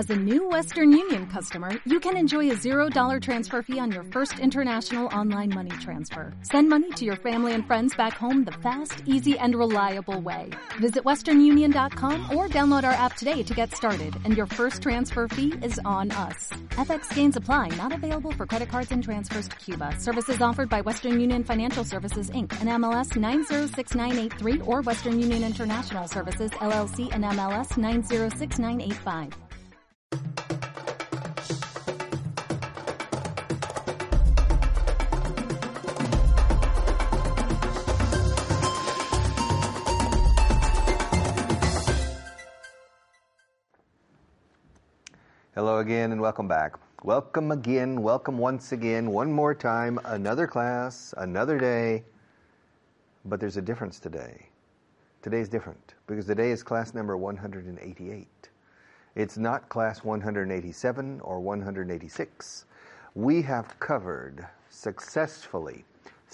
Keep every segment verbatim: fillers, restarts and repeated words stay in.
As a new Western Union customer, you can enjoy a zero dollar transfer fee on your first international online money transfer. Send money to your family and friends back home the fast, easy, and reliable way. Visit western union dot com or download our app today to get started, and your first transfer fee is on us. F X gains apply, not available for credit cards and transfers to Cuba. Services offered by Western Union Financial Services, Incorporated, and M L S nine zero six nine eight three or Western Union International Services, L L C, and M L S nine zero six nine eight five. Hello again and welcome back. Welcome again, welcome once again, one more time, another class, another day. But there's a difference today. Today's different because today is class number one hundred eighty-eight. It's not class one hundred eighty-seven or one hundred eighty-six. We have covered successfully,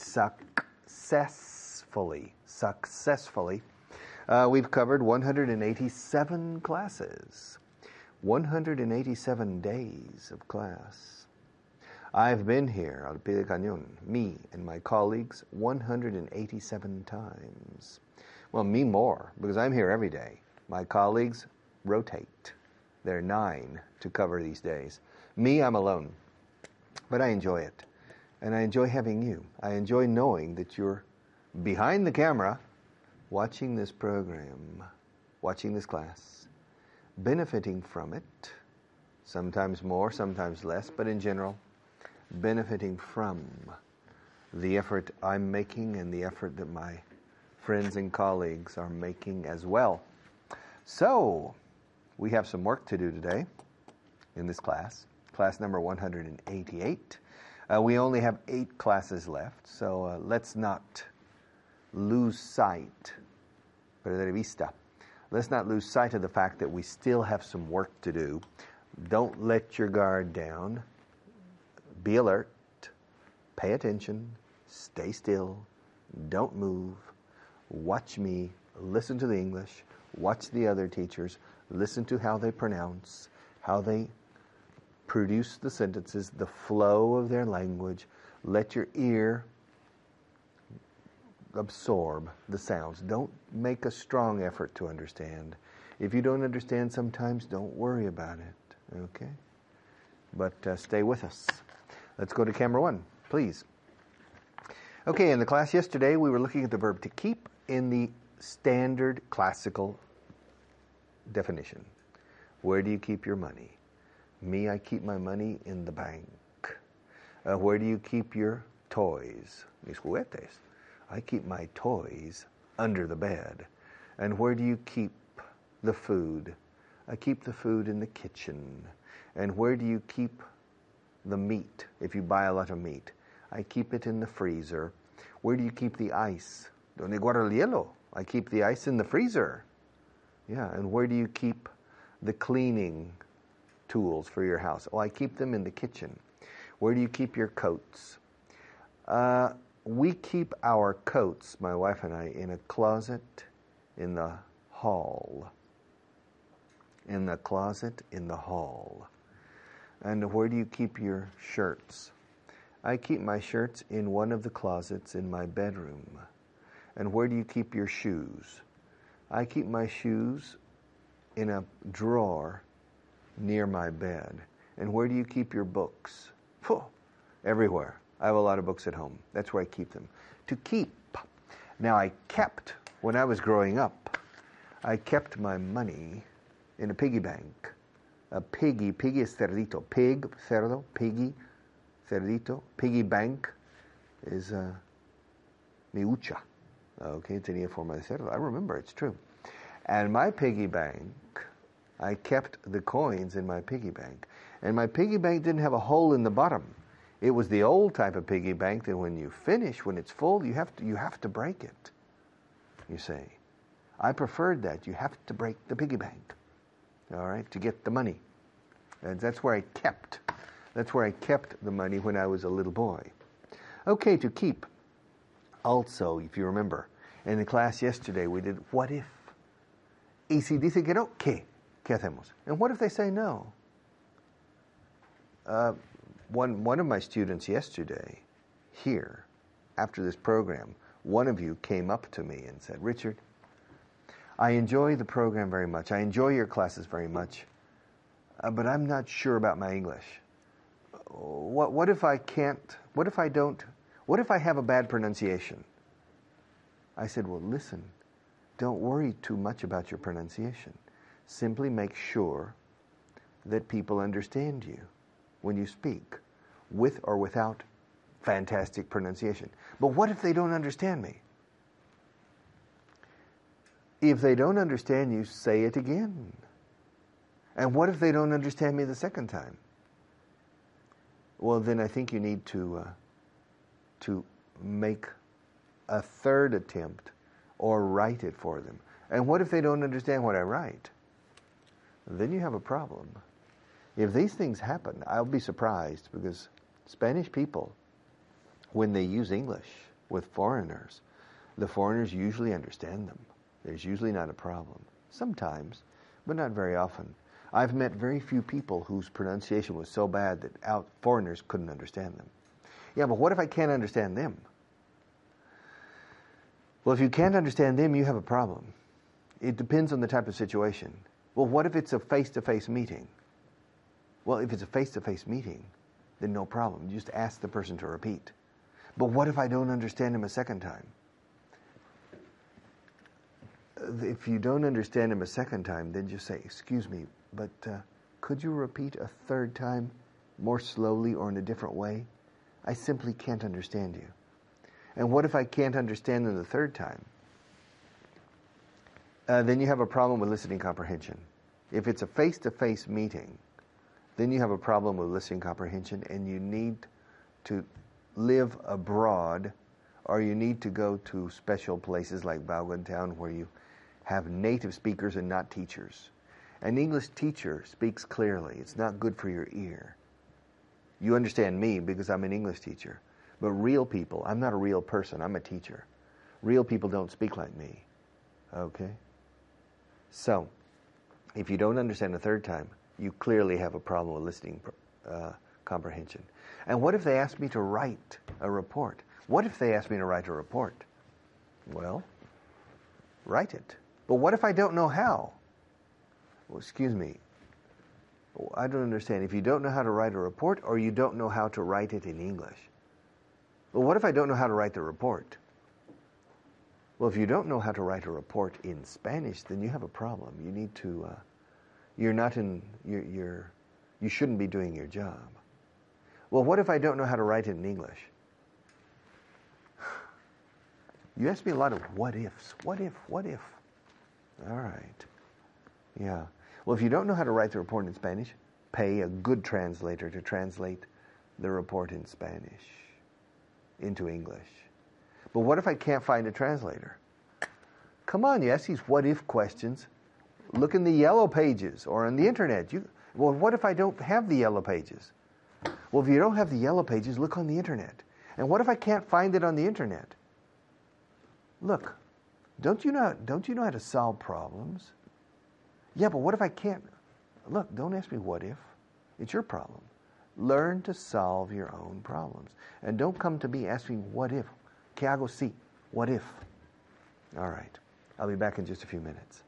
successfully, successfully, uh, we've covered one hundred eighty-seven classes. one hundred eighty-seven days of class. I've been here, Al Pie del Cañón, me and my colleagues, one hundred eighty-seven times. Well, me more, because I'm here every day. My colleagues rotate. There are nine to cover these days. Me, I'm alone. But I enjoy it. And I enjoy having you. I enjoy knowing that you're behind the camera watching this program, watching this class, benefiting from it, sometimes more, sometimes less, but in general, benefiting from the effort I'm making and the effort that my friends and colleagues are making as well. So, we have some work to do today in this class, class number one hundred eighty-eight. Uh, we only have eight classes left, so uh, let's not lose sight, perder vista. Let's not lose sight of the fact that we still have some work to do. Don't let your guard down. Be alert. Pay attention. Stay still. Don't move. Watch me. Listen to the English. Watch the other teachers. Listen to how they pronounce, how they produce the sentences, the flow of their language. Let your ear absorb the sounds. Don't make a strong effort to understand. If you don't understand sometimes, don't worry about it. Okay? But uh, stay with us. Let's go to camera one, please. Okay, in the class yesterday, we were looking at the verb to keep in the standard classical definition. Where do you keep your money? Me, I keep my money in the bank. Uh, where do you keep your toys? Mis juguetes. I keep my toys under the bed. And where do you keep the food? I keep the food in the kitchen. And where do you keep the meat, if you buy a lot of meat? I keep it in the freezer. Where do you keep the ice? Donde guardo el hielo? I keep the ice in the freezer. Yeah, and where do you keep the cleaning tools for your house? Oh, I keep them in the kitchen. Where do you keep your coats? Uh, we keep our coats, my wife and I, in a closet in the hall. In the closet in the hall. And where do you keep your shirts? I keep my shirts in one of the closets in my bedroom. And where do you keep your shoes? I keep my shoes in a drawer near my bed. And where do you keep your books? Phew, everywhere. I have a lot of books at home. That's where I keep them. To keep. Now, I kept, when I was growing up, I kept my money in a piggy bank. A piggy, piggy is cerdito. Pig, cerdo, piggy, cerdito. Piggy bank is uh, mi hucha. Okay, tenía forma de cerdo. I remember, it's true. And my piggy bank, I kept the coins in my piggy bank. And my piggy bank didn't have a hole in the bottom. It was the old type of piggy bank that when you finish, when it's full, you have to, you have to break it, you see. I preferred that. You have to break the piggy bank, all right, to get the money. And that's where I kept. That's where I kept the money when I was a little boy. Okay, to keep. Also, if you remember, in the class yesterday we did what if. Y si dice que no, ¿qué? ¿Qué hacemos? And what if they say no? Uh, one, one of my students yesterday, here, after this program, one of you came up to me and said, Richard, I enjoy the program very much. I enjoy your classes very much, uh, but I'm not sure about my English. What, what if I can't, what if I don't, what if I have a bad pronunciation? I said, well, listen, don't worry too much about your pronunciation. Simply make sure that people understand you when you speak, with or without fantastic pronunciation. But what if they don't understand me? If they don't understand you, say it again. And what if they don't understand me the second time? Well, then I think you need to uh, to make a third attempt or write it for them. And what if they don't understand what I write? Then you have a problem. If these things happen, I'll be surprised, because Spanish people, when they use English with foreigners, the foreigners usually understand them. There's usually not a problem. Sometimes, but not very often. I've met very few people whose pronunciation was so bad that out foreigners couldn't understand them. Yeah, but what if I can't understand them? Well, if you can't understand them, you have a problem. It depends on the type of situation. Well, what if it's a face-to-face meeting? Well, if it's a face-to-face meeting, then no problem. You just ask the person to repeat. But what if I don't understand him a second time? If you don't understand him a second time, then just say, excuse me, but uh, could you repeat a third time more slowly or in a different way? I simply can't understand you. And what if I can't understand them the third time? Uh, then you have a problem with listening comprehension. If it's a face-to-face meeting, then you have a problem with listening comprehension, and you need to live abroad, or you need to go to special places like Baugantown where you have native speakers and not teachers. An English teacher speaks clearly. It's not good for your ear. You understand me because I'm an English teacher. But real people, I'm not a real person, I'm a teacher. Real people don't speak like me. Okay? So, if you don't understand the third time, you clearly have a problem with listening uh, comprehension. And what if they ask me to write a report? What if they ask me to write a report? Well, write it. But what if I don't know how? Well, excuse me. I don't understand. If you don't know how to write a report, or you don't know how to write it in English. Well, what if I don't know how to write the report? Well, if you don't know how to write a report in Spanish, then you have a problem. You need to, uh, you're not in, you're, you're, you shouldn't be doing your job. Well, what if I don't know how to write it in English? You ask me a lot of what ifs. What if, what if? All right. Yeah. Well, if you don't know how to write the report in Spanish, pay a good translator to translate the report in Spanish into English. But what if I can't find a translator? Come on, you ask these what-if questions. Look in the yellow pages or on the internet. You, well, what if I don't have the yellow pages? Well, if you don't have the yellow pages, look on the internet. And what if I can't find it on the internet? Look, don't you know, don't you know how to solve problems? Yeah, but what if I can't? Look, don't ask me what if. It's your problem. Learn to solve your own problems. And don't come to me asking what if. ¿Qué hago si? What if? All right. I'll be back in just a few minutes.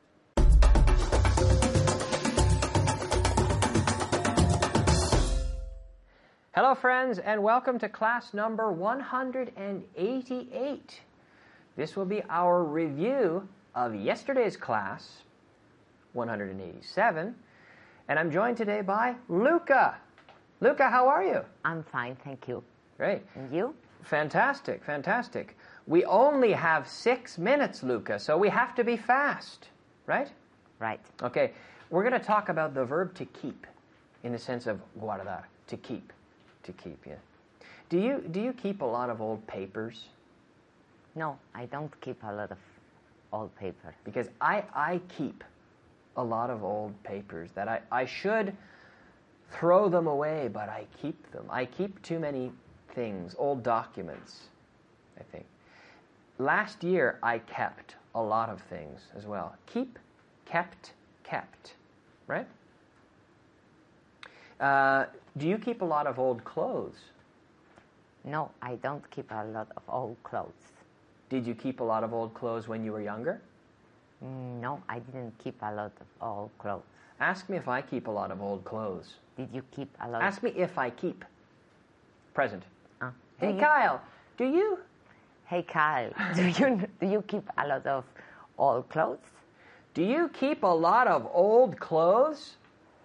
Hello, friends, and welcome to class number one hundred eighty-eight. This will be our review of yesterday's class, one hundred eighty-seven, and I'm joined today by Luca. Luca, how are you? I'm fine, thank you. Great. And you? Fantastic, fantastic. We only have six minutes, Luca, so we have to be fast, right? Right. Okay, we're going to talk about the verb to keep, in the sense of guardar, to keep, to keep, yeah. Do you, do you keep a lot of old papers? No, I don't keep a lot of old paper. Because I, I keep a lot of old papers that I, I should throw them away, but I keep them. I keep too many things, old documents, I think. Last year, I kept a lot of things as well. Keep, kept, kept, right? Uh, do you keep a lot of old clothes? No, I don't keep a lot of old clothes. Did you keep a lot of old clothes when you were younger? Mm, No, I didn't keep a lot of old clothes. Ask me if I keep a lot of old clothes. Did you keep a lot? Ask me if I keep. Present. Uh, do Hey, you- Kyle, do you? Hey Kyle, do you do you keep a lot of old clothes? Do you keep a lot of old clothes?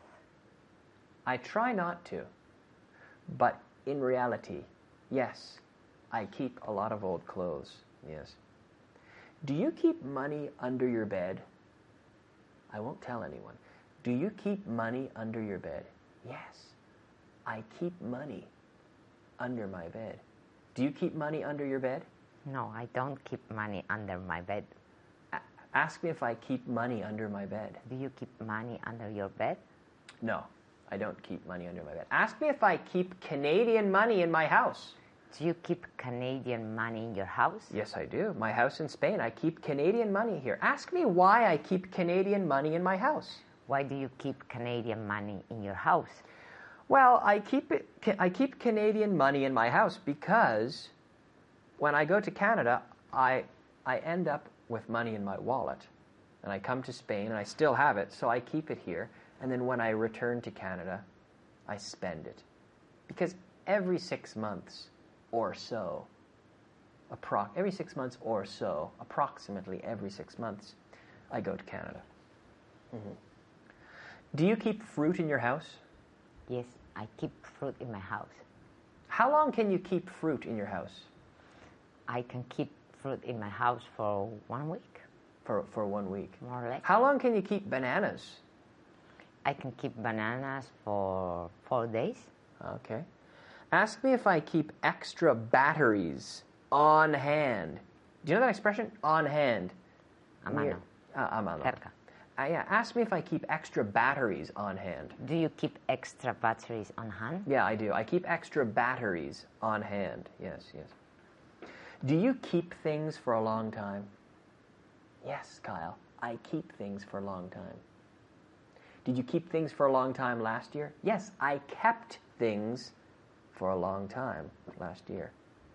I try not to. But in reality, yes, I keep a lot of old clothes. Yes. Do you keep money under your bed? I won't tell anyone. Do you keep money under your bed? Yes. I keep money under my bed. Do you keep money under your bed? No, I don't keep money under my bed. A- ask me if I keep money under my bed. Do you keep money under your bed? No, I don't keep money under my bed. Ask me if I keep Canadian money in my house. Do you keep Canadian money in your house? Yes, I do. My house in Spain, I keep Canadian money here. Ask me why I keep Canadian money in my house. Why do you keep Canadian money in your house? Well, I keep it. I keep Canadian money in my house because when I go to Canada, I I end up with money in my wallet, and I come to Spain and I still have it, so I keep it here. And then when I return to Canada, I spend it because every six months or so, appro- every six months or so, approximately every six months, I go to Canada. Mm-hmm. Do you keep fruit in your house? Yes, I keep fruit in my house. How long can you keep fruit in your house? I can keep fruit in my house for one week, For, for one week. more or less. How long can you keep bananas? I can keep bananas for four days. Okay. Ask me if I keep extra batteries on hand. Do you know that expression? On hand. A Near- mano. Uh, a mano. Cerca. Uh, yeah. Ask me if I keep extra batteries on hand. Do you keep extra batteries on hand? Yeah, I do. I keep extra batteries on hand. Yes, yes. Do you keep things for a long time? Yes, Kyle. I keep things for a long time. Did you keep things for a long time last year? Yes, I kept things for a long time last year.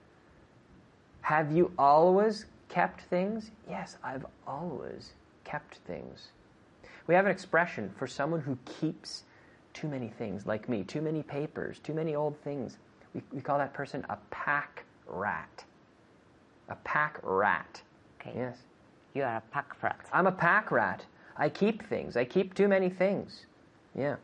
Have you always kept things? Yes, I've always kept things. We have an expression for someone who keeps too many things, like me, too many papers, too many old things. We, we call that person a pack rat. A pack rat. Okay. Yes. You are a pack rat. I'm a pack rat. I keep things. I keep too many things. Yeah.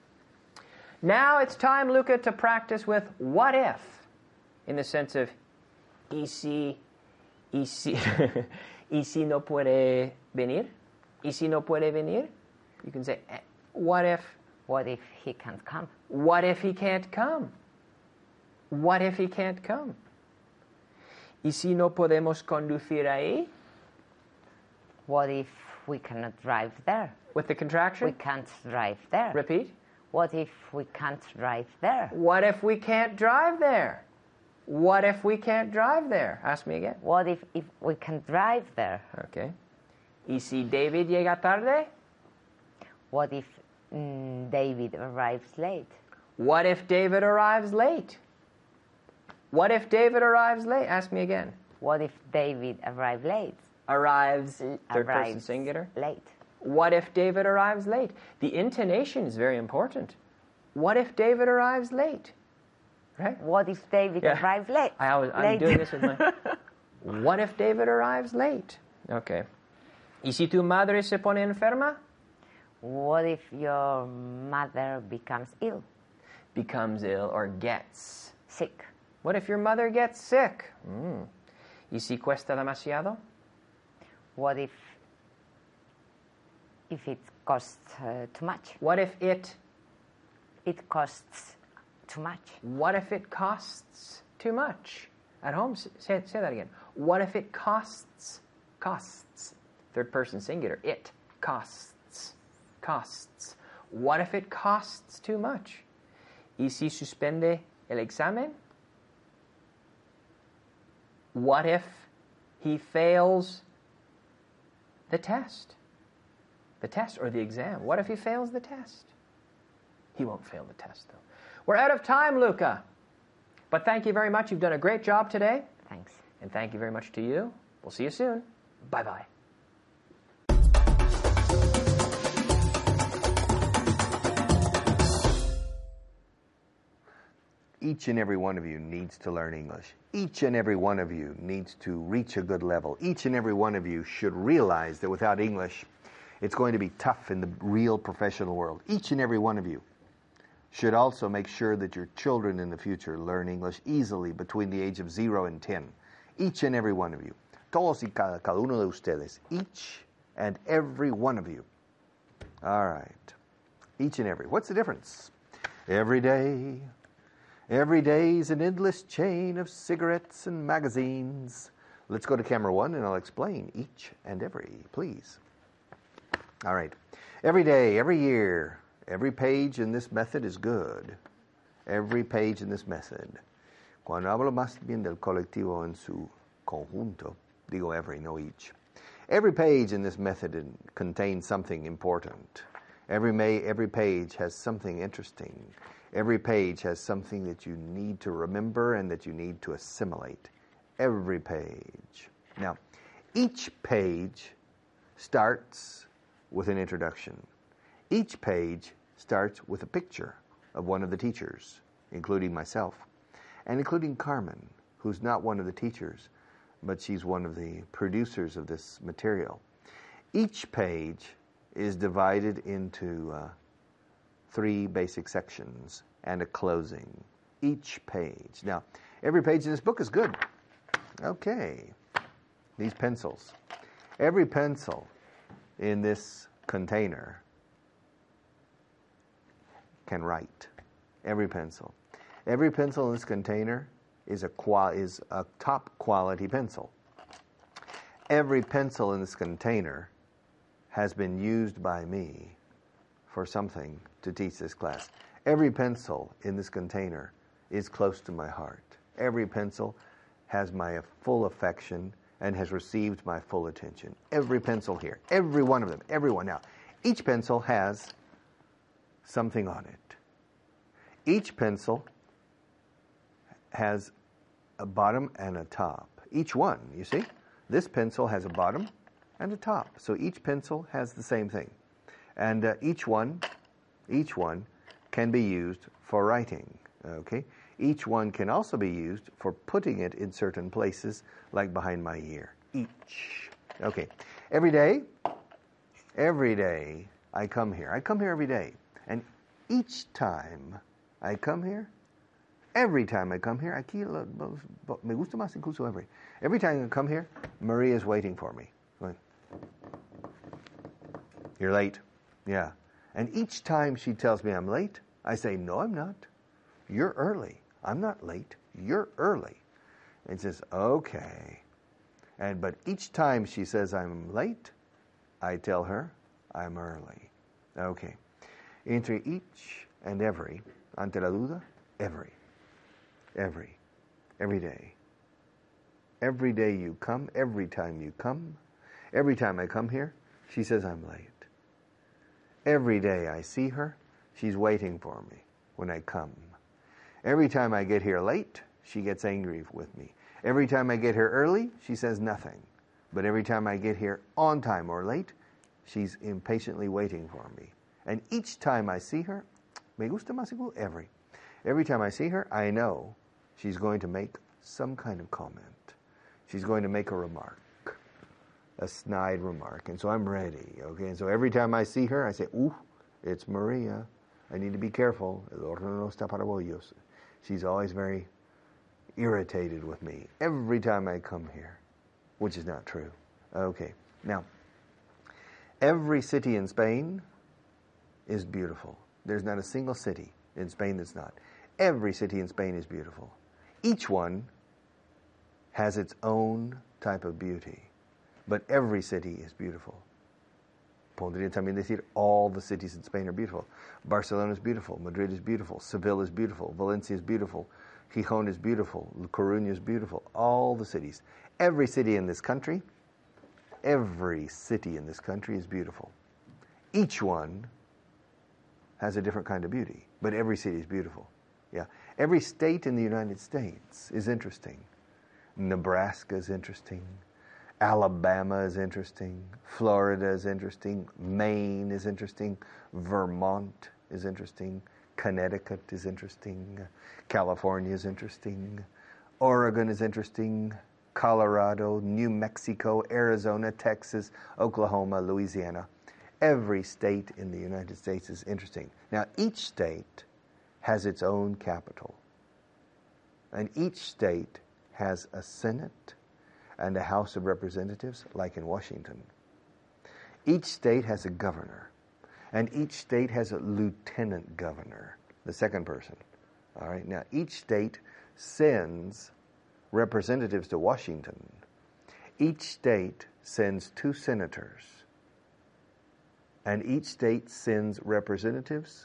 Now it's time, Luca, to practice with what if, in the sense of, y si, y si, y si no puede venir? Y si no puede venir? You can say, eh, what if, What if he can't come? what if he can't come? What if he can't come? Y si no podemos conducir ahí? What if we cannot drive there? With the contraction? We can't drive there. Repeat. What if we can't drive there? What if we can't drive there? What if we can't drive there? Ask me again. What if, if we can drive there? Okay. ¿Y si David llega tarde? What if mm, David arrives late? What if David arrives late? What if David arrives late? Ask me again. What if David arrives late? Arrives, third person Arrives singular. late. What if David arrives late? The intonation is very important. What if David arrives late? Right? What if David Yeah. arrives late? I always, I'm late. doing this with my... What if David arrives late? Okay. ¿Y si tu madre se pone enferma? What if your mother becomes ill, Becomes ill or gets. sick? What if your mother gets sick? Mm. ¿Y si cuesta demasiado? What if if it costs uh, too much? What if it... It costs too much. What if it costs too much? At home, s- say, say that again. What if it costs? Costs. Third person singular. It costs. Costs. What if it costs too much? ¿Y si suspende el examen? What if he fails the test? The test or the exam. What if he fails the test? He won't fail the test, though. We're out of time, Luca. But thank you very much. You've done a great job today. Thanks. And thank you very much to you. We'll see you soon. Bye-bye. Each and every one of you needs to learn English. Each and every one of you needs to reach a good level. Each and every one of you should realize that without English, it's going to be tough in the real professional world. Each and every one of you should also make sure that your children in the future learn English easily between the age of zero and ten. Each and every one of you. Todos y cada, cada uno de ustedes. Each and every one of you. All right. Each and every. What's the difference? Every day. Every day is an endless chain of cigarettes and magazines. Let's go to camera one and I'll explain each and every, please. All right. Every day, every year, every page in this method is good. Every page in this method. Cuando hablo más bien del colectivo en su conjunto, digo every, no each. Every page in this method contains something important. Every, may, every page has something interesting. Every page has something that you need to remember and that you need to assimilate. Every page. Now, each page starts with an introduction. Each page starts with a picture of one of the teachers, including myself, and including Carmen, who's not one of the teachers, but she's one of the producers of this material. Each page is divided into uh, three basic sections and a closing. Each page. Now, every page in this book is good. Okay. These pencils. Every pencil in this container can write. Every pencil. Every pencil in this container is a qual- is a top quality pencil. Every pencil in this container has been used by me for something to teach this class. Every pencil in this container is close to my heart. Every pencil has my full affection and has received my full attention. Every pencil here, every one of them, every one. Now, each pencil has something on it. Each pencil has a bottom and a top. Each one, you see? This pencil has a bottom and a top. So each pencil has the same thing. And uh, each one, each one can be used for writing, okay? Each one can also be used for putting it in certain places, like behind my ear. Each. Okay. Every day, every day I come here. I come here every day. And each time I come here, every time I come here, aquí me gusta más incluso every. Every time I come here, Maria is waiting for me. Going, you're late. Yeah. And each time she tells me I'm late, I say, no, I'm not. You're early. I'm not late. You're early. And she says, okay. And but each time she says I'm late, I tell her I'm early. Okay. Entre each and every, ante la duda, every. Every. Every day. Every day you come, every time you come, every time I come here, she says I'm late. Every day I see her, she's waiting for me when I come. Every time I get here late, she gets angry with me. Every time I get here early, she says nothing. But every time I get here on time or late, she's impatiently waiting for me. And each time I see her, me gusta más igual every. Every time I see her, I know she's going to make some kind of comment. She's going to make a remark. A snide remark. And so I'm ready, okay? And so every time I see her, I say, ooh, it's Maria. I need to be careful. El horno no está para bollos. She's always very irritated with me every time I come here, which is not true. Okay, now, every city in Spain is beautiful. There's not a single city in Spain that's not. Every city in Spain is beautiful. Each one has its own type of beauty. But every city is beautiful. Podría también decir all the cities in Spain are beautiful. Barcelona is beautiful. Madrid is beautiful. Seville is beautiful. Valencia is beautiful. Gijón is beautiful. La Coruña is beautiful. All the cities. Every city in this country, every city in this country is beautiful. Each one has a different kind of beauty, but every city is beautiful. Yeah, every state in the United States is interesting. Nebraska is interesting. Alabama is interesting. Florida is interesting. Maine is interesting. Vermont is interesting. Connecticut is interesting. California is interesting. Oregon is interesting. Colorado, New Mexico, Arizona, Texas, Oklahoma, Louisiana. Every state in the United States is interesting. Now, each state has its own capital. And each state has a Senate and a House of Representatives, like in Washington. Each state has a governor, and each state has a lieutenant governor, the second person. All right. Now, each state sends representatives to Washington. Each state sends two senators, and each state sends representatives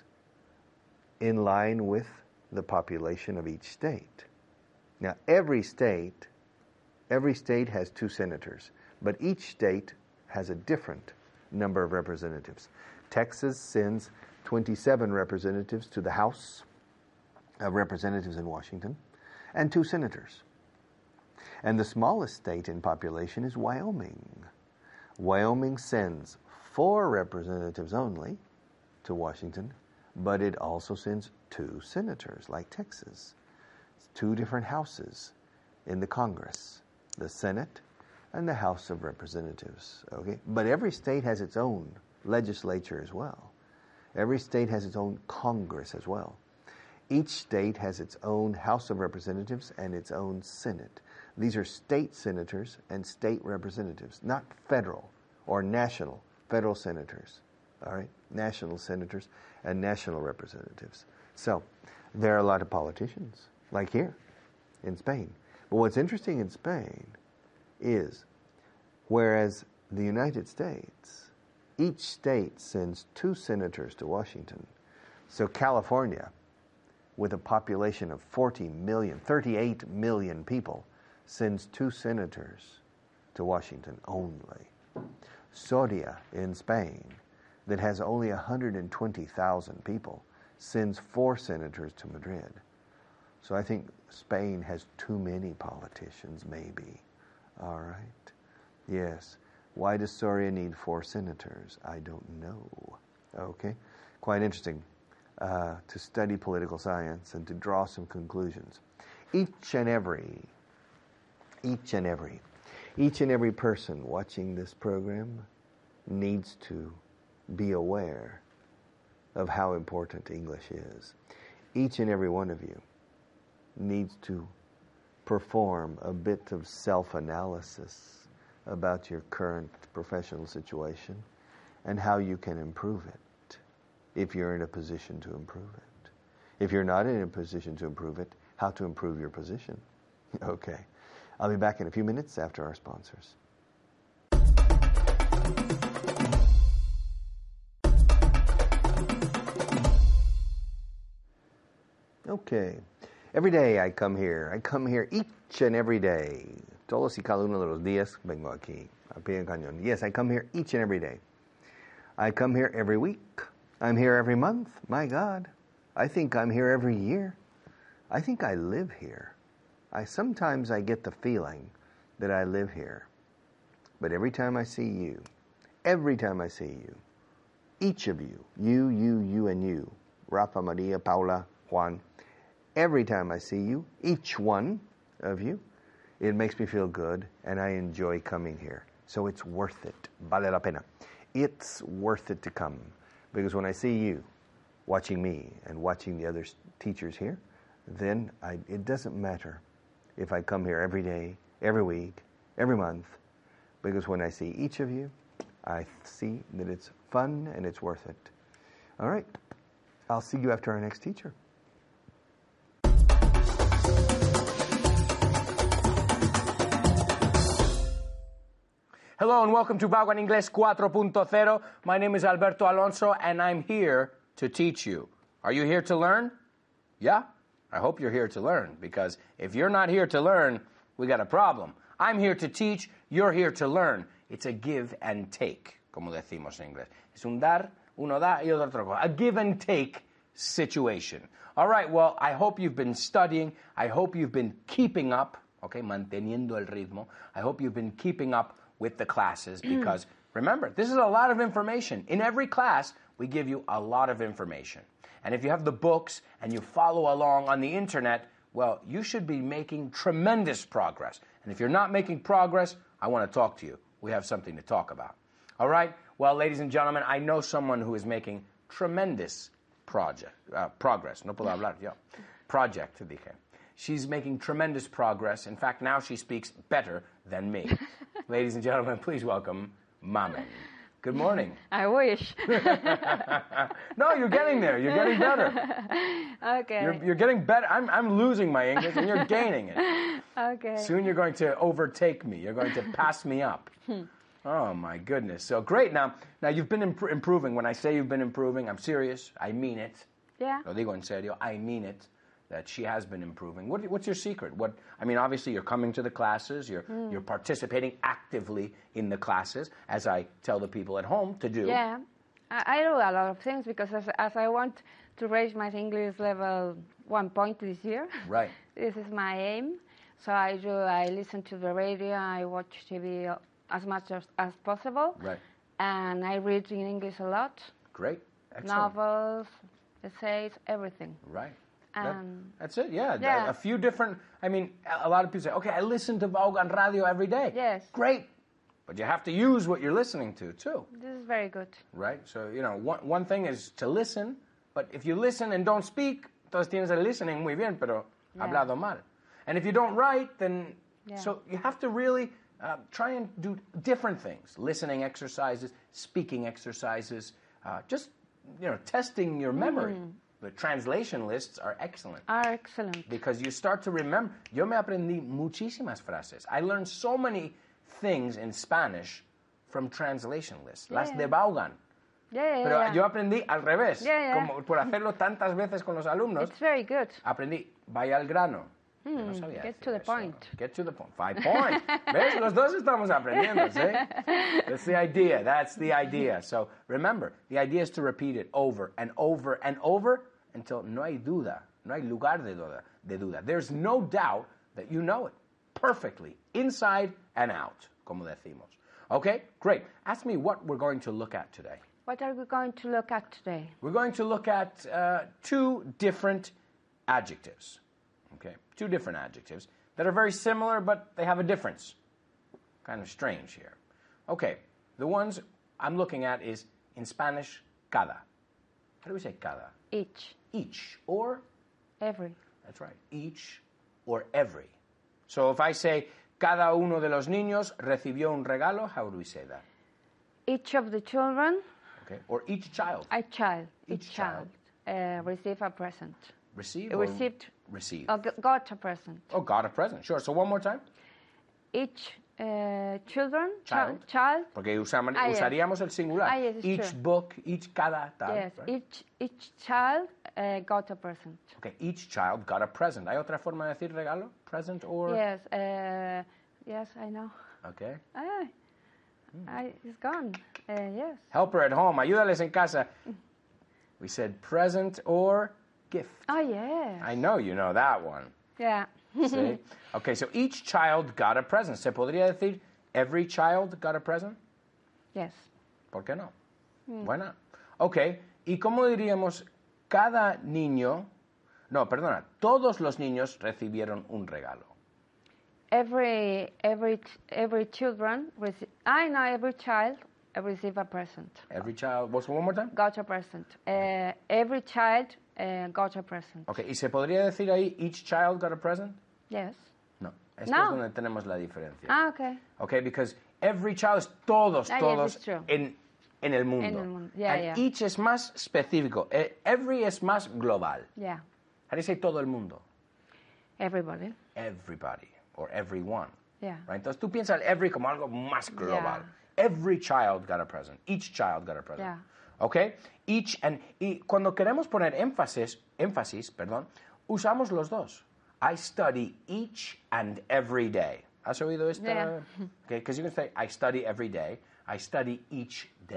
in line with the population of each state. Now, every state, every state has two senators, but each state has a different number of representatives. Texas sends twenty-seven representatives to the House of Representatives in Washington, and two senators. And the smallest state in population is Wyoming. Wyoming sends four representatives only to Washington, but it also sends two senators, like Texas. It's two different houses in the Congress, the Senate and the House of Representatives. Okay, but every state has its own legislature as well. Every state has its own Congress as well. Each state has its own House of Representatives and its own Senate. These are state senators and state representatives, not federal or national, federal senators. All right, national senators and national representatives. So there are a lot of politicians, like here in Spain. But what's interesting in Spain is, whereas the United States, each state sends two senators to Washington. So California, with a population of forty million, thirty-eight million people, sends two senators to Washington only. Soria in Spain, that has only one hundred twenty thousand people, sends four senators to Madrid. So I think Spain has too many politicians, maybe. All right. Yes. Why does Soria need four senators? I don't know. Okay. Quite interesting uh, to study political science and to draw some conclusions. Each and every, each and every, each and every person watching this program needs to be aware of how important English is. Each and every one of you needs to perform a bit of self-analysis about your current professional situation and how you can improve it if you're in a position to improve it. If you're not in a position to improve it, how to improve your position. Okay. I'll be back in a few minutes after our sponsors. Okay. Every day I come here. I come here each and every day. Todos y cada uno de los días vengo aquí. A pie de cañón. Yes, I come here each and every day. I come here every week. I'm here every month. My God. I think I'm here every year. I think I live here. I sometimes I get the feeling that I live here. But every time I see you, every time I see you, each of you, you, you, you, and you, Rafa, Maria, Paula, Juan, every time I see you, each one of you, it makes me feel good, and I enjoy coming here. So it's worth it. Vale la pena. It's worth it to come. Because when I see you watching me and watching the other teachers here, then I, it doesn't matter if I come here every day, every week, every month. Because when I see each of you, I see that it's fun and it's worth it. All right. I'll see you after our next teacher. Hello and welcome to Bagua en Inglés cuatro punto cero. My name is Alberto Alonso and I'm here to teach you. Are you here to learn? Yeah? I hope you're here to learn, because if you're not here to learn, we got a problem. I'm here to teach, you're here to learn. It's a give and take, como decimos en inglés. Es un dar, Uno da y otro coge. A give and take situation. All right, well, I hope you've been studying. I hope you've been keeping up, okay, manteniendo el ritmo. I hope you've been keeping up with the classes because, remember, this is a lot of information. In every class, we give you a lot of information. And if you have the books and you follow along on the internet, well, you should be making tremendous progress. And if you're not making progress, I want to talk to you. We have something to talk about. All right? Well, ladies and gentlemen, I know someone who is making tremendous project, uh, progress. No puedo hablar yo. Project, dije. She's making tremendous progress. In fact, now she speaks better than me. Ladies and gentlemen, please welcome Mamen. Good morning. I wish. No, you're getting there. You're getting better. Okay. You're, you're getting better. I'm, I'm losing my English, and you're gaining it. Okay. Soon you're going to overtake me. You're going to pass me up. Oh, my goodness. So great. Now, now you've been imp- improving. When I say you've been improving, I'm serious. I mean it. Yeah. Lo digo en serio. I mean it. That she has been improving. What, what's your secret? What I mean, obviously, you're coming to the classes. You're Mm. you're participating actively in the classes, as I tell the people at home to do. Yeah. I, I do a lot of things because as, as I want to raise my English level one point this year. Right. This is my aim. So I do. I listen to the radio. I watch T V as much as, as possible. Right. And I read in English a lot. Great. Excellent. Novels, essays, everything. Right. That, Um, that's it, yeah. yeah. A, a few different, I mean, a, a lot of people say, okay, I listen to Vaughan Radio every day. Yes. Great. But you have to use what you're listening to, too. This is very good. Right? So, you know, one, one thing is to listen, but if you listen and don't speak, entonces tienes el listening muy bien, pero Yeah. hablado mal. And if you don't write, then, Yeah. so you have to really uh, try and do different things. Listening exercises, speaking exercises, uh, just, you know, testing your memory. Mm. The translation lists are excellent. Are excellent. Because you start to remember. Yo me aprendí muchísimas frases. I learned so many things in Spanish from translation lists. Las Yeah. de Vaughan. Yeah, yeah, Pero yeah. yo aprendí al revés. Yeah, yeah. Como por hacerlo tantas veces con los alumnos, It's very good. aprendí vaya al grano. Yo no Hmm, sabía get decir to the eso. point. Get to the point. Five points. ¿Ves? Los dos estamos aprendiendo, ¿sí? That's the idea. That's the idea. So remember, the idea is to repeat it over and over and over until no hay duda, no hay lugar de duda, de duda. There's no doubt that you know it perfectly, inside and out, como decimos. Okay? Great. Ask me what we're going to look at today. What are we going to look at today? We're going to look at uh, two different adjectives. Okay, two different adjectives that are very similar, but they have a difference. Kind of strange here. Okay, the ones I'm looking at is in Spanish, cada. How do we say cada? Each. Each or, Every. that's right, each or every. So if I say, cada uno de los niños recibió un regalo, how do we say that? Each of the children, Okay, or each child. a child, Each each child, uh, receive a present. Receive Uh, or received. receive? Uh, g- got a present. Oh, got a present. Sure. So one more time. Each uh, children, Child. chi- child, Porque usamos, Ah, yes. usaríamos el singular. Ah, yes, it's each true. book, each cada tal. yes, right? each each child uh, got a present. Okay, each child got a present. ¿Hay otra forma de decir regalo? Present or? Yes, uh, yes, I know. Okay. Ah, I, it's gone. Uh, yes. Helper at home. Ayúdales en casa. We said present or gift. Oh, yes. I know you know that one. Yeah. See? Okay, so each child got a present. ¿Se podría decir every child got a present? Yes. ¿Por qué no? Why not? Ok, ¿y cómo diríamos cada niño? No, perdona, todos los niños recibieron un regalo. Every every every children rece- I know every child receive a present. Every child, what's one more time? Got a present. Uh, every child uh, got a present. Ok, ¿y se podría decir ahí each child got a present? Yes. No, esto No. es donde tenemos la diferencia. Ah, okay. Okay, because every child es todos, Ah, yes, todos it's true. en, en el mundo. En el mundo, yeah, And yeah. each es más específico. Eh, Every es más global. Yeah. How do you say todo el mundo? Everybody. Everybody or everyone. Yeah. Right? Entonces tú piensas every como algo más global. Every child got a present. Each child got a present. Yeah. Okay? Each and y cuando queremos poner énfasis, énfasis, perdón, usamos los dos. I study each and every day. ¿Has oído esta? Yeah. Okay, because you can say I study every day. I study each day.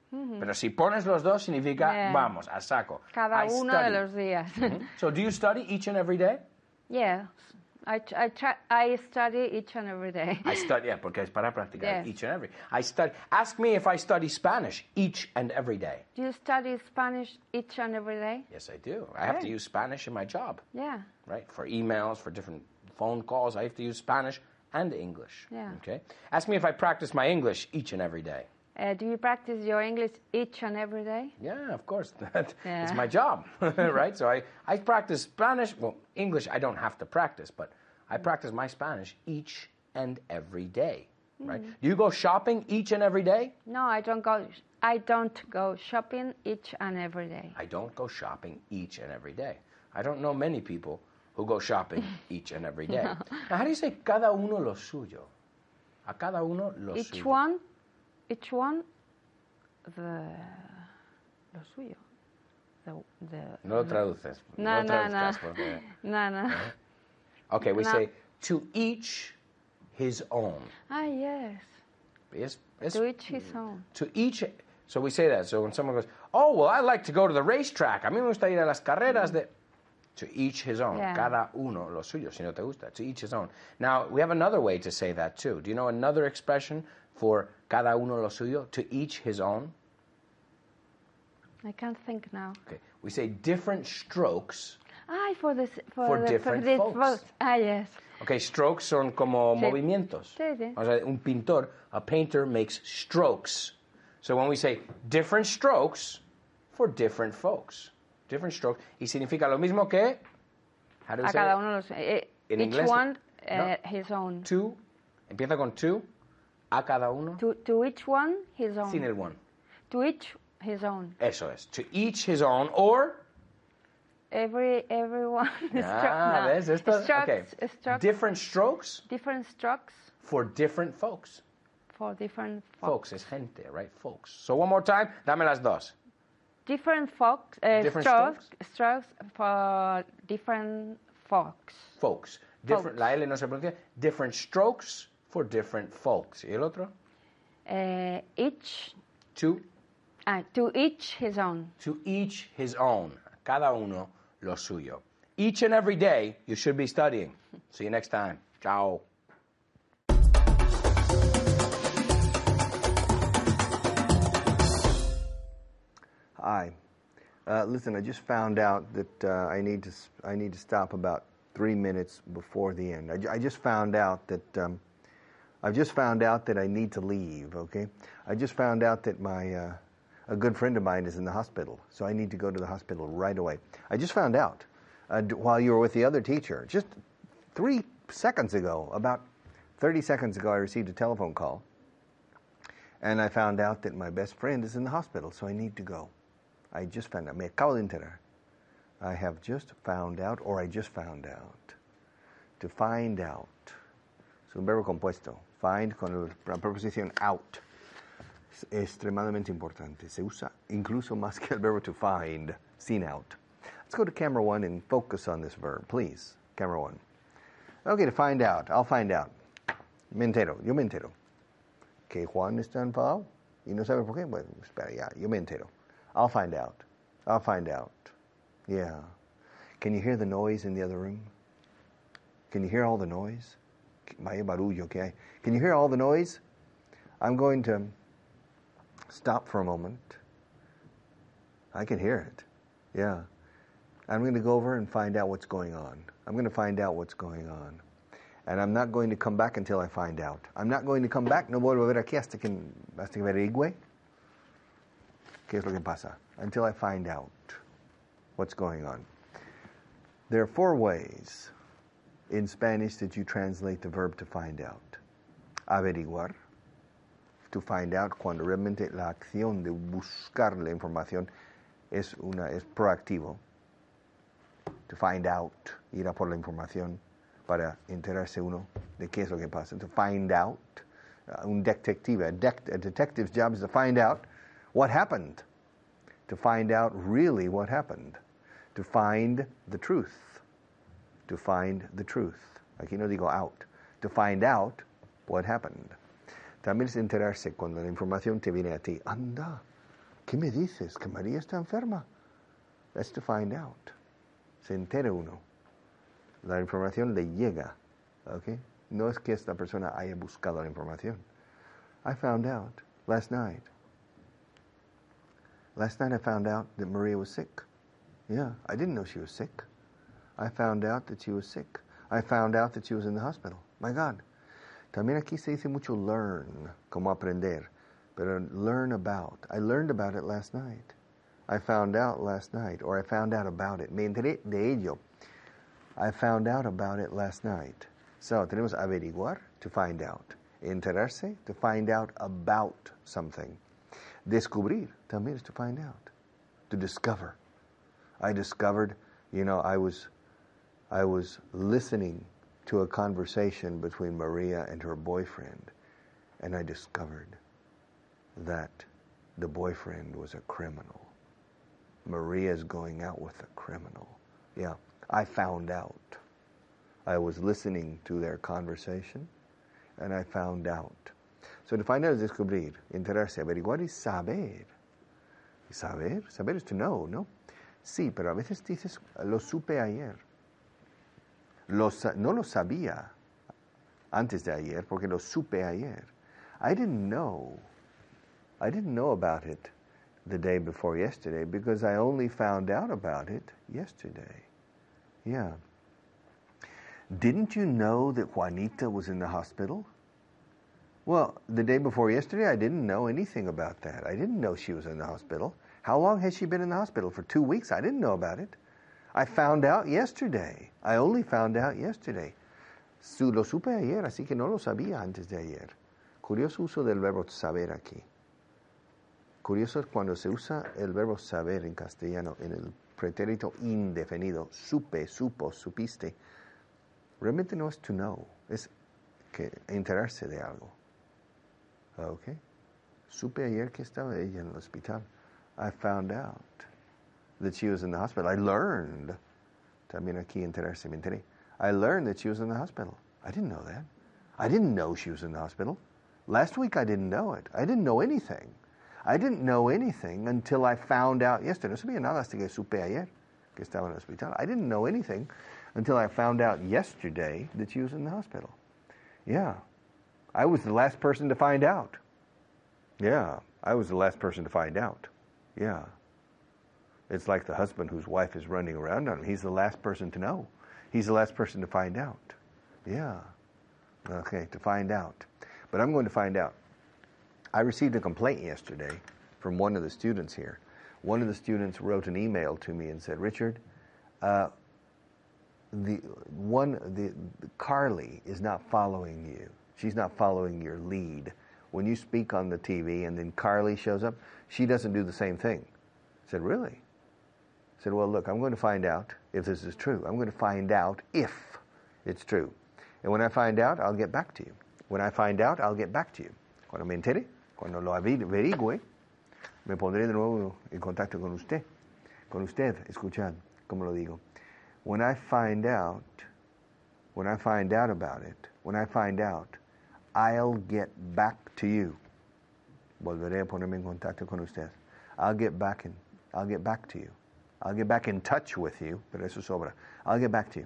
Pero si pones los dos significa Yeah. vamos, a saco. Cada I uno study. de los días. Mhm. So do you study each and every day? Yes. I, tr- I, try, I study each and every day. I study, yeah, porque es para practicar Yes. each and every. I study. Ask me if I study Spanish each and every day. Do you study Spanish each and every day? Yes, I do. I have to Okay. use Spanish in my job, Yeah. right? For emails, for different phone calls, I have to use Spanish and English. Yeah. Okay. Ask me if I practice my English each and every day. Uh, do you practice your English each and every day? Yeah, of course. That, Yeah. It's my job, right? So I, I practice Spanish. Well, English I don't have to practice, but I practice my Spanish each and every day, right? Do you go shopping each and every day? No, I don't go. I don't go shopping each and every day. I don't go shopping each and every day. I don't know many people who go shopping each and every day. Now, how do you say cada uno lo suyo? A cada uno lo Each suyo. one, each one, the lo suyo. The, the, No lo traduces. No, lo no, no. traduzcas porque- No, no. Okay, we No. say to each his own. Ah, yes. Es, es, To each his own. To each. So we say that. So when someone goes, oh, well, I like to go to the racetrack. A mí me gusta ir a las carreras de. To each his own. Yeah. Cada uno lo suyo, si no te gusta. To each his own. Now, we have another way to say that too. Do you know another expression for cada uno lo suyo? To each his own. I can't think now. Okay. We say different strokes. Ah, for this, for, For the, different this folks. folks. Ah, yes. Okay, strokes son como Sí. movimientos. Sí, sí. O sea, un pintor, a painter makes strokes. So when we say different strokes for different folks. Different strokes. Y significa lo mismo que. How do we A say cada it? uno los. Eh, En each inglés, one uh, no. his own. To. Empieza con to. A cada uno. To, to each one his own. Sin el one. To each his own. Eso es. To each his own or. Every everyone. Ah, ¿ves? Esto, strokes, okay. strokes, Different strokes different strokes for different folks. for different Folks is gente, right? Folks. So one more time. Dame las dos. different folks. Uh, Different strokes, strokes for different folks. Folks. Different, Folks. La L no se pronuncia. Different strokes for different folks. ¿Y el otro? Uh, each To, ah, to each his own. to each his own. Cada uno lo suyo. Each and every day you should be studying. See you next time. Ciao. Hi. Uh, listen, I just found out that uh, I need to s- I need to stop about three minutes before the end. I, ju- I just found out that um, I've just found out that I need to leave. Okay, I just found out that my uh, a good friend of mine is in the hospital, so I need to go to the hospital right away. I just found out uh, d- while you were with the other teacher, just three seconds ago, about thirty seconds ago, I received a telephone call, and I found out that my best friend is in the hospital, so I need to go. I just found out. Me acabo de enterar. I have just found out, or I just found out. To find out. Es un verbo compuesto. Find con el- la preposición out. Es extremadamente importante. Se usa incluso más que el verbo to find. Seen out. Let's go to camera one and focus on this verb, please. Camera one. Okay, to find out. I'll find out. Me entero. Yo me entero. Que Juan está enfadado y no sabe por qué. Bueno, espera, ya. Yo me entero. I'll find out. I'll find out. Yeah. Can you hear the noise in the other room? Can you hear all the noise? Vaya barullo que hay. Can you hear all the noise? I'm going to stop for a moment. I can hear it. Yeah. I'm going to go over and find out what's going on. I'm going to find out what's going on. And I'm not going to come back until I find out. I'm not going to come back. No vuelvo a ver aquí hasta que, hasta que averigüe qué es lo que pasa. Until I find out what's going on. There are four ways in Spanish that you translate the verb to find out. Averiguar, to find out, cuando realmente la acción de buscar la información es, una, es proactivo. To find out, ir a por la información para enterarse uno de qué es lo que pasa. To find out, uh, un detective, a, dec- a detective's job is to find out what happened. To find out really what happened. To find the truth. To find the truth. Aquí no digo out. To find out what happened. También es enterarse cuando la información te viene a ti. Anda, ¿Qué me dices? ¿Que María está enferma? That's to find out. Se entera uno. La información le llega. Okay? No es que esta persona haya buscado la información. I found out last night. Last night I found out that Maria was sick. Yeah, I didn't know she was sick. I found out that she was sick. I found out that she was in the hospital. My God. También aquí se dice mucho learn, como aprender. Pero learn about. I learned about it last night. I found out last night, or I found out about it. Me enteré de ello. I found out about it last night. So, tenemos averiguar, to find out. Enterarse, to find out about something. Descubrir, también is to find out. To discover. I discovered, you know, I was, I was listening to a conversation between Maria and her boyfriend, and I discovered that the boyfriend was a criminal. Maria's going out with a criminal. Yeah, I found out. I was listening to their conversation, and I found out. So to find out is descubrir, enterarse, averiguar y saber. ¿Y saber? Saber is to know, ¿no? Sí, pero a veces dices, lo supe ayer. Lo, no lo sabía antes de ayer, porque lo supe ayer. I didn't know. I didn't know about it the day before yesterday because I only found out about it yesterday. Yeah. Didn't you know that Juanita was in the hospital? Well, the day before yesterday, I didn't know anything about that. I didn't know she was in the hospital. How long has she been in the hospital? For two weeks? I didn't know about it. I found out yesterday. I only found out yesterday. Lo supe ayer, así que no lo sabía antes de ayer. Curioso uso del verbo saber aquí. Curioso es cuando se usa el verbo saber en castellano en el pretérito indefinido. Supe, supo, supiste. Realmente no es to know, es que enterarse de algo. Okay. Supe ayer que estaba ella en el hospital. I found out that she was in the hospital. I learned. También aquí enterarse, me enteré. I learned that she was in the hospital. I didn't know that. I didn't know she was in the hospital. Last week I didn't know it. I didn't know anything. I didn't know anything until I found out yesterday. No sabía nada hasta que supe ayer que estaba en el hospital. I didn't know anything until I found out yesterday that she was in the hospital. Yeah. I was the last person to find out. Yeah. I was the last person to find out. Yeah. It's like the husband whose wife is running around on him. He's the last person to know. He's the last person to find out. Yeah. Okay, to find out. But I'm going to find out. I received a complaint yesterday from one of the students here. One of the students wrote an email to me and said, Richard, uh, the one the Carly is not following you. She's not following your lead. When you speak on the T V and then Carly shows up, she doesn't do the same thing. I said, really? I said, well, look, I'm going to find out if this is true. I'm going to find out if it's true. And when I find out, I'll get back to you. When I find out, I'll get back to you. Cuando me entere, cuando lo averigüe, me pondré de nuevo en contacto con usted. Con usted, escuchad, como lo digo. When I find out, when I find out about it, when I find out, I'll get back to you. Volveré a ponerme en contacto con usted. I'll get back in, I'll get back to you. I'll get back in touch with you, pero eso sobra. I'll get back to you.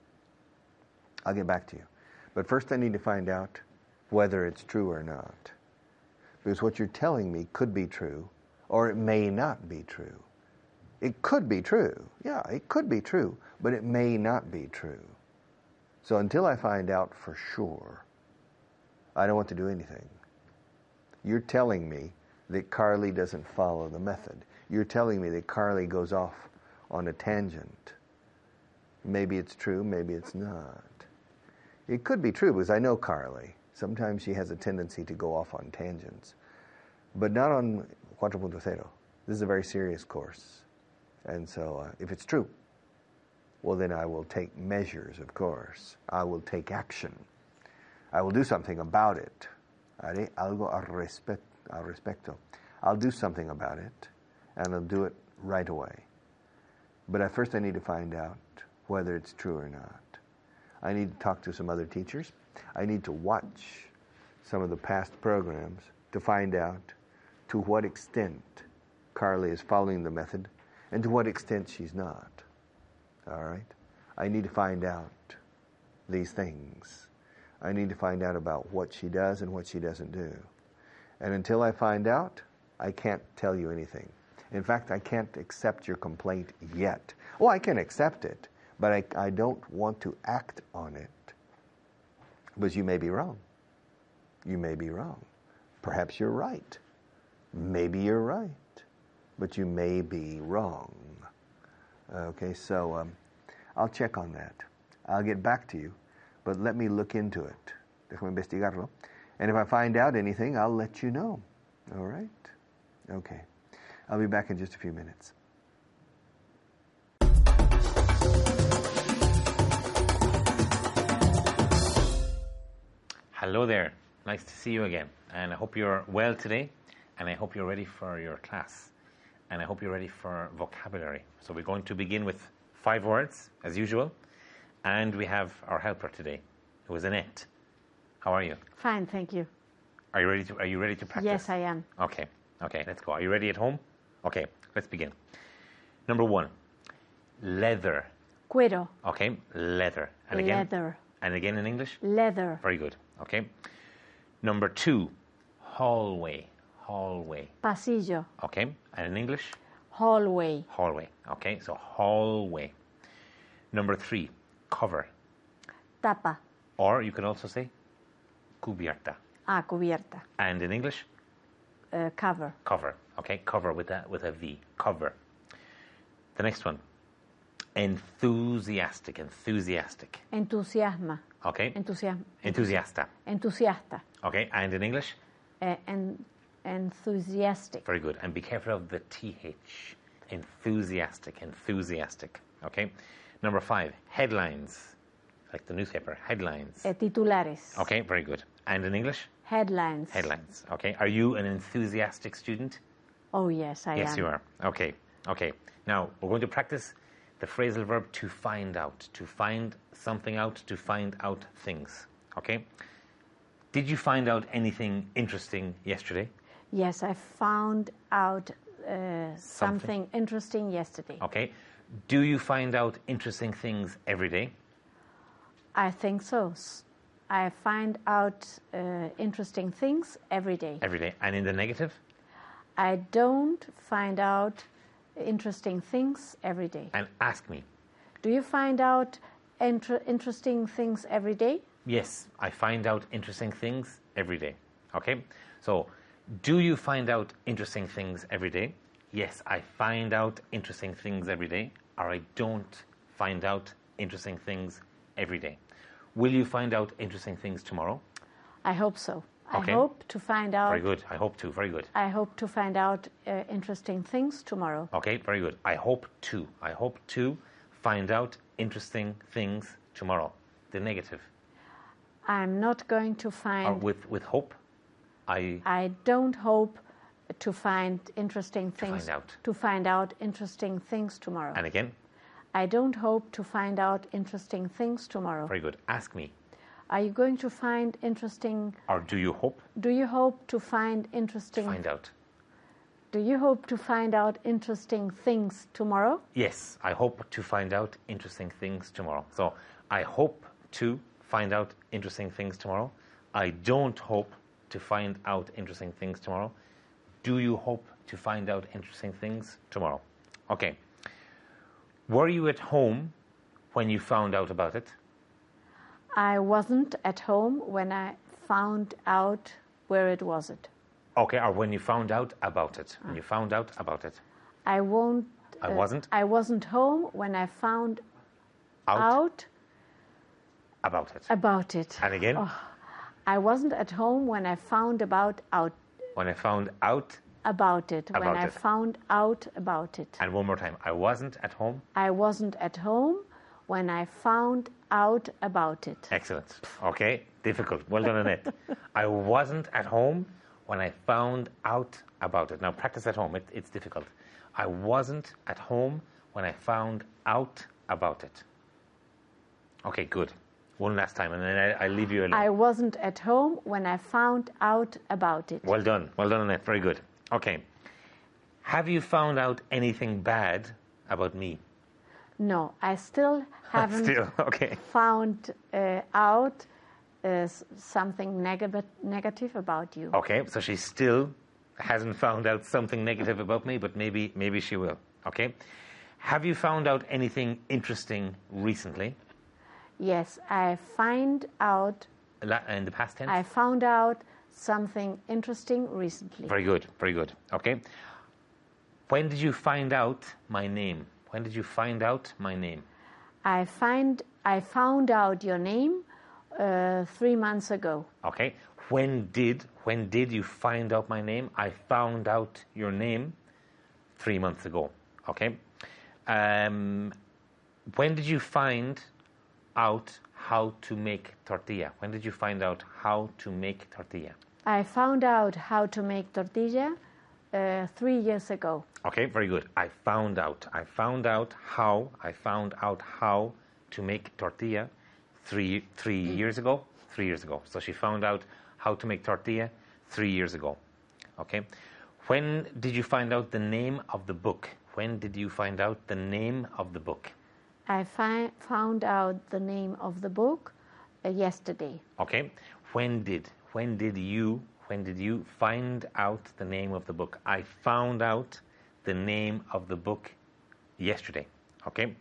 I'll get back to you. But first I need to find out whether it's true or not. Because what you're telling me could be true, or it may not be true. It could be true. Yeah, it could be true, but it may not be true. So until I find out for sure, I don't want to do anything. You're telling me that Carly doesn't follow the method. You're telling me that Carly goes off on a tangent. Maybe it's true, maybe it's not. It could be true because I know Carly. Sometimes she has a tendency to go off on tangents. But not on four point oh. This is a very serious course. And so uh, if it's true, well then I will take measures, of course. I will take action. I will do something about it. Haré algo al, respe- al respecto. I'll do something about it, and I'll do it right away. But at first I need to find out whether it's true or not. I need to talk to some other teachers. I need to watch some of the past programs to find out to what extent Carly is following the method and to what extent she's not. All right? I need to find out these things. I need to find out about what she does and what she doesn't do. And until I find out, I can't tell you anything. In fact, I can't accept your complaint yet. Well, I can accept it, but I, I don't want to act on it. Because you may be wrong. You may be wrong. Perhaps you're right. Maybe you're right. But you may be wrong. Okay, so um, I'll check on that. I'll get back to you, but let me look into it. Déjame investigarlo. And if I find out anything, I'll let you know. All right? Okay. I'll be back in just a few minutes. Hello there. Nice to see you again. And I hope you're well today. And I hope you're ready for your class. And I hope you're ready for vocabulary. So we're going to begin with five words, as usual. And we have our helper today, who is Annette. How are you? Fine, thank you. Are you ready to, are you ready to practice? Yes, I am. Okay. Okay, let's go. Are you ready at home? Okay, let's begin. Number one, leather. Cuero. Okay, leather. And again? Leather. And again in English? Leather. Very good. Okay. Number two, hallway. Hallway. Pasillo. Okay. And in English? Hallway. Hallway. Okay, so hallway. Number three, cover. Tapa. Or you can also say cubierta. Ah, cubierta. And in English? Uh, cover. Cover. Okay, cover with a, with a V. Cover. The next one, enthusiastic. Enthusiastic. Entusiasma. Okay. Entusiasma. Enthusiasta. Entusiasta. Okay, and in English? Uh, en- enthusiastic. Very good. And be careful of the T H. Enthusiastic. Enthusiastic. Okay. Number five, headlines. Like the newspaper. Headlines. Uh, titulares. Okay, very good. And in English? Headlines. Headlines. Okay. Are you an enthusiastic student? Oh, yes, I Yes, am. you are. Okay. Okay. Now, we're going to practice the phrasal verb to find out. To find something out, to find out things. Okay? Did you find out anything interesting yesterday? Yes, I found out uh, something. something interesting yesterday. Okay. Do you find out interesting things every day? I think so. S- I find out uh, interesting things every day. Every day. And in the negative? I don't find out interesting things every day. And ask me. Do you find out inter- interesting things every day? Yes, I find out interesting things every day. Okay? So, do you find out interesting things every day? Yes, I find out interesting things every day. Or I don't find out interesting things every day. Will you find out interesting things tomorrow? I hope so. Okay. I hope to find out. Very good. I hope to. Very good. I hope to find out uh, interesting things tomorrow. Okay, very good. I hope to. I hope to find out interesting things tomorrow. The negative. I'm not going to find. Or with, with hope, I... I don't hope to find interesting things. find out. To find out interesting things tomorrow. And again? I don't hope to find out interesting things tomorrow. Very good. Ask me. Are you going to find interesting... Or do you hope? Do you hope to find interesting... To find out. Do you hope to find out interesting things tomorrow? Yes, I hope to find out interesting things tomorrow. So, I hope to find out interesting things tomorrow. I don't hope to find out interesting things tomorrow. Do you hope to find out interesting things tomorrow? Okay. Were you at home when you found out about it? I wasn't at home when I found out where it was it. Okay, or when you found out about it. When you found out about it. I won't... I wasn't? I wasn't home when I found Out, out about it. about it. And again? Oh, I wasn't at home when I found about out When I found out. about it. when About I it. found out about it. And one more time. I wasn't at home. I wasn't at home when I found out about it. Excellent. Okay, difficult. Well done, Annette. I wasn't at home when I found out about it. Now, practice at home. It, it's difficult. I wasn't at home when I found out about it. Okay, good. One last time, and then I, I leave you alone. I wasn't at home when I found out about it. Well done. Well done, Annette. Very good. Okay. Have you found out anything bad about me? No, I still haven't Still, okay. found uh, out uh, s- something negative negative about you. Okay, so she still hasn't found out something negative about me, but maybe maybe she will. Okay. Have you found out anything interesting recently? Yes, I find out. La- In the past tense? I found out something interesting recently. Very good, very good. Okay. When did you find out my name? When did you find out my name? I find I found out your name uh, three months ago. Okay. When did when did you find out my name? I found out your name three months ago. Okay. Um, when did you find out how to make tortilla? When did you find out how to make tortilla? I found out how to make tortilla uh, three years ago. Okay, very good. I found out. I found out how. I found out how to make tortilla three three years ago. Three years ago. So she found out how to make tortilla three years ago. Okay. When did you find out the name of the book? When did you find out the name of the book? I fi- found out the name of the book uh, yesterday. Okay. When did when did you when did you find out the name of the book? I found out the name of the book yesterday. Okay.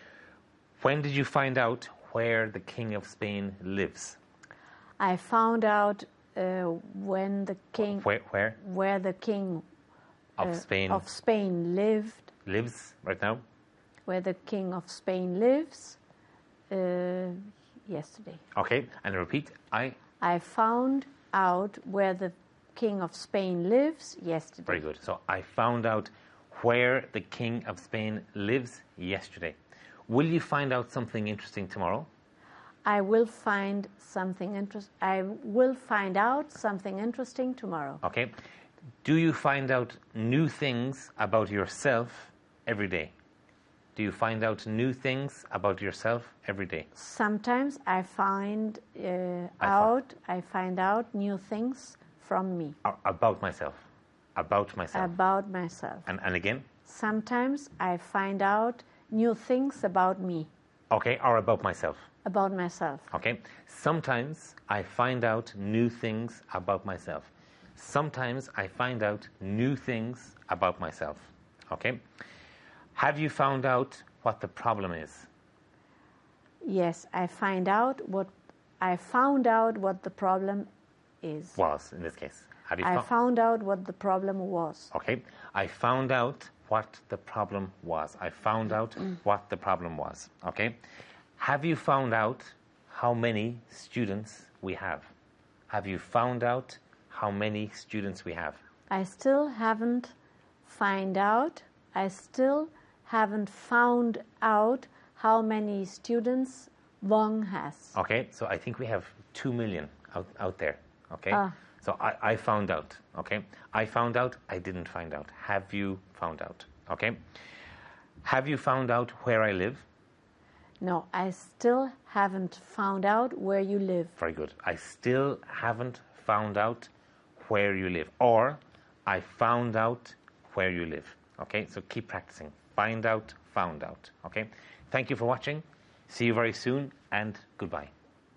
When did you find out where the King of Spain lives? I found out uh, when the king Where where where the king of uh, Spain of Spain lived, lives right now? where the king of Spain lives uh, yesterday. Okay. And repeat. I I found out where the king of Spain lives yesterday. Very good. So I found out where the King of Spain lives yesterday. Will you find out something interesting tomorrow? I will find something interest. I will find out something interesting tomorrow. Okay. Do you find out new things about yourself every day? Do you find out new things about yourself every day? Sometimes I find uh, I fi- out. I find out new things from me A- About myself. About myself. about myself. and, and again? Sometimes I find out new things about me, Okay. Or about myself. about myself. Okay. Sometimes I find out new things about myself. Sometimes I find out new things about myself. Okay. Have you found out what the problem is? Yes, I find out what I found out what the problem is. Was in this case. Have you I fo- found out what the problem was. Okay. I found out what the problem was. I found out what the problem was. Okay. Have you found out how many students we have? Have you found out how many students we have? I still haven't find out. I still haven't found out how many students Wong has. Okay. So I think we have two million out, out there. Okay. Ah. So I, I found out. Okay. I found out. I didn't find out. Have you found out? Okay. Have you found out where I live? No, I still haven't found out where you live. Very good. I still haven't found out where you live. Or I found out where you live. Okay, so keep practicing. Find out, found out. Okay, thank you for watching. See you very soon, and goodbye.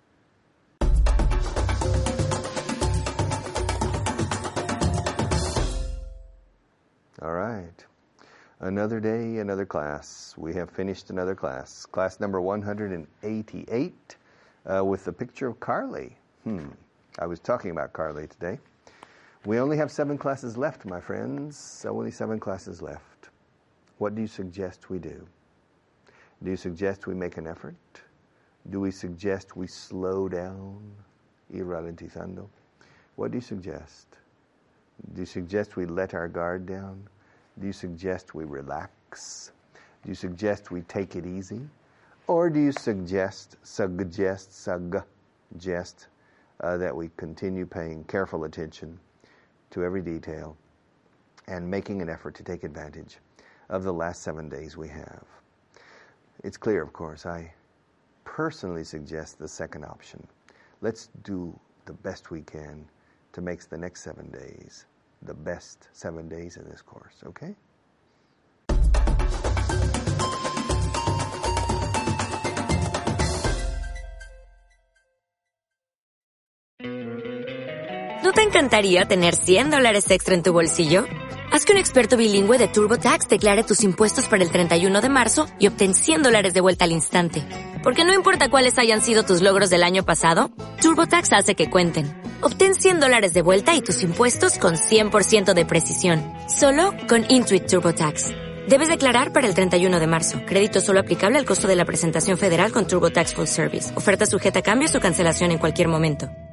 All right. Another day, another class. We have finished another class. Class number one hundred eighty-eight uh, with the picture of Carly. Hmm. I was talking about Carly today. We only have seven classes left, my friends. Only seven classes left. What do you suggest we do? Do you suggest we make an effort? Do we suggest we slow down? Ir ralentizando. What do you suggest? Do you suggest we let our guard down? Do you suggest we relax? Do you suggest we take it easy? Or do you suggest, suggest, suggest uh, that we continue paying careful attention to every detail and making an effort to take advantage of the last seven days we have? It's clear, of course. I personally suggest the second option. Let's do the best we can to make the next seven days the best seven days in this course, okay? ¿No te encantaría tener cien dólares extra en tu bolsillo? Haz que un experto bilingüe de TurboTax declare tus impuestos para el treinta y uno de marzo y obtén cien dólares de vuelta al instante. Porque no importa cuáles hayan sido tus logros del año pasado, TurboTax hace que cuenten. Obtén cien dólares de vuelta y tus impuestos con cien por ciento de precisión. Solo con Intuit TurboTax. Debes declarar para el treinta y uno de marzo. Crédito solo aplicable al costo de la presentación federal con TurboTax Full Service. Oferta sujeta a cambios o cancelación en cualquier momento.